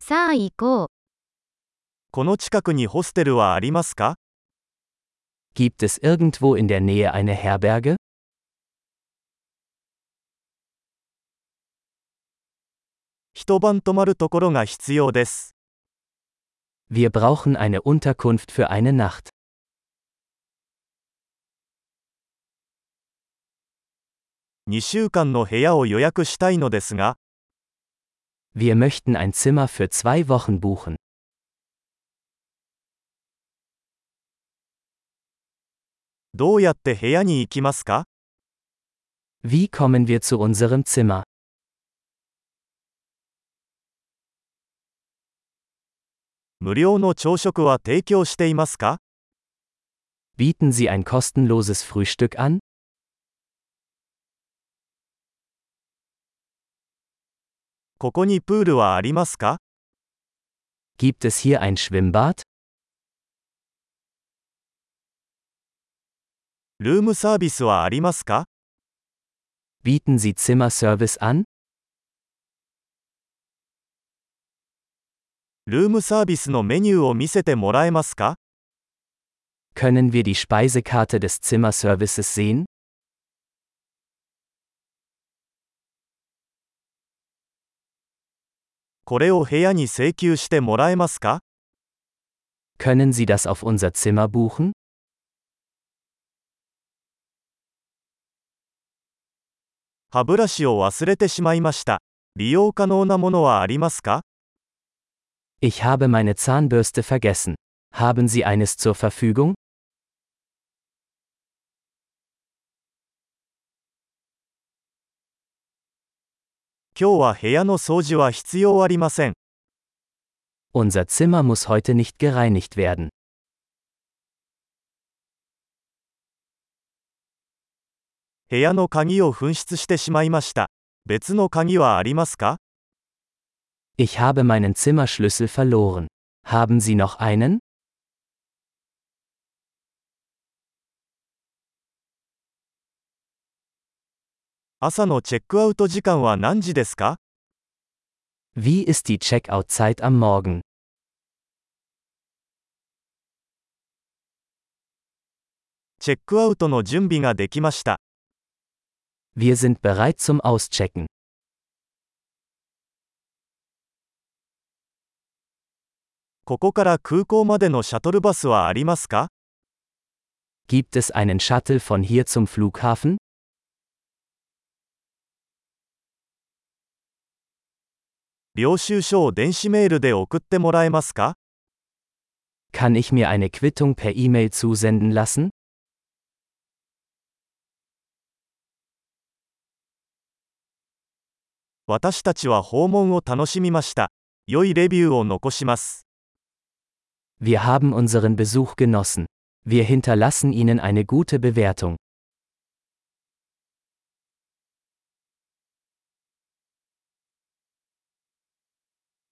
さあ行こう。 この近くにホステルはありますか？ Gibt es irgendwo in der Nähe eine Herberge? 一晩泊まるところが必要です。 Wir brauchen eine Unterkunft für eine Nacht. 2週間の部屋を予約したいのですが、 Wir möchten ein Zimmer für 2 Wochen buchen. どうやって部屋に行きますか？ Wie kommen wir zu unserem Zimmer? 無料の朝食は提供していますか？ Bieten Sie ein kostenloses Frühstück an? ここにプールはありますか？ Gibt es hier ein Schwimmbad? ルームサービスはありますか？ Bieten Sie Zimmerservice an? ルームサービスのメニューを見せてもらえますか？ Können wir die Speisekarte des Zimmerservices sehen? これを部屋に請求してもらえますか？ Können Sie das auf unser Zimmer buchen? 歯ブラシを忘れてしまいました。利用可能なものはありますか？ Ich habe meine Zahnbürste vergessen. Haben Sie eines zur Verfügung? 今日は部屋の掃除は必要ありません。 Unser Zimmer muss heute nicht gereinigt werden. 部屋の鍵を紛失してしまいました。別の鍵はありますか？ Ich habe meinen Zimmerschlüssel verloren. Haben Sie noch einen? 朝のチェックアウト時間は何時ですか？ Wie ist die Checkout-Zeit am Morgen? チェックアウトの準備ができました。 Wir sind bereit zum Auschecken. ここから空港までのシャトルバスはありますか？ Gibt es einen Shuttle von hier zum Flughafen? 領収書を電子メールで送ってもらえますか？ Kann ich mir eine Quittung per E-Mail zusenden lassen? 私たちは訪問を楽しみました。良いレビューを残します。 Wir haben unseren Besuch genossen. Wir hinterlassen Ihnen eine gute Bewertung.